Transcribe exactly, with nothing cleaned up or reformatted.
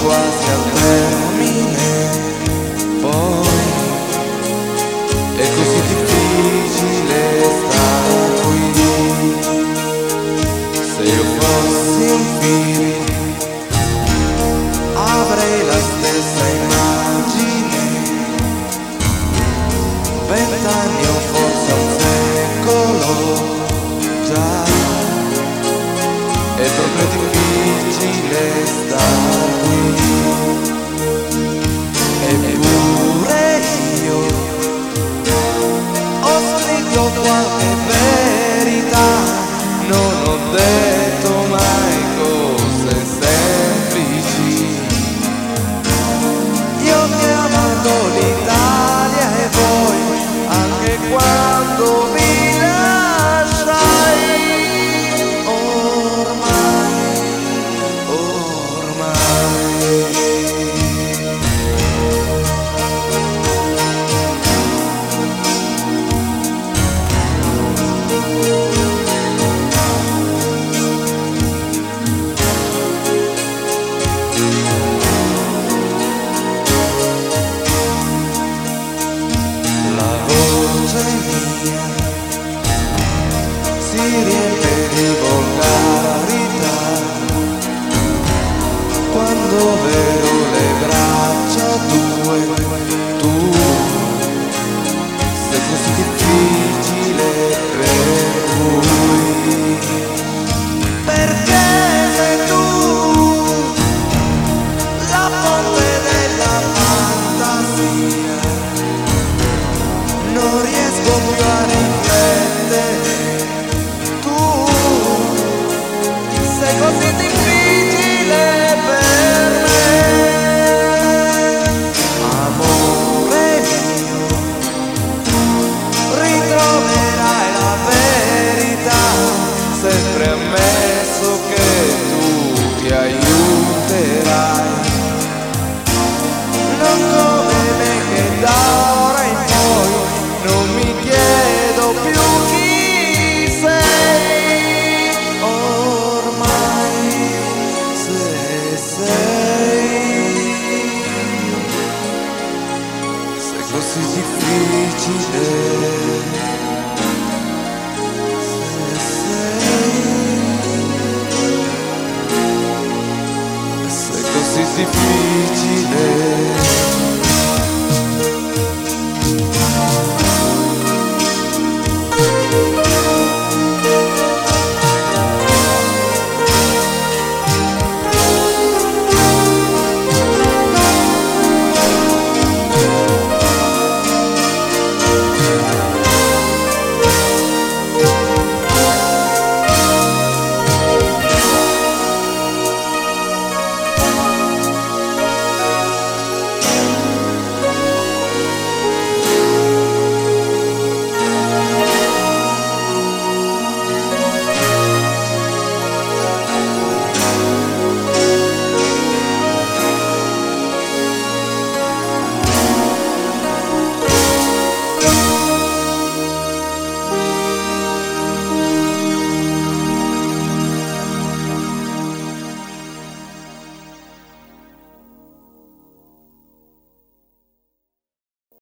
quasi al termine, poi è così difficile star qui. Se io fossi un film avrei la stessa immagine, vent'anni o forse un secolo già. È proprio difficile star qui. Eppure io ho scritto qualche verità, non ho detto mai cose semplici. Io che ho amato l'Italia e voi, anche quando vi lasciai. Ormai, ormai la voce mia si riempie di volgarità quando vedo le braccia tue. Tu sei così difficile per cui, perché sei tu la fonte della fantasia. Non riesco più a riflettere, tu sei così difficile per me. Amore mio, ritroverai la verità, sempre ammesso che tu ti aiuterai. Non come me che da ora in poi non mi chiedo più chi sei. Ormai se sei, sei così difficile. Se sei, sei così difficile.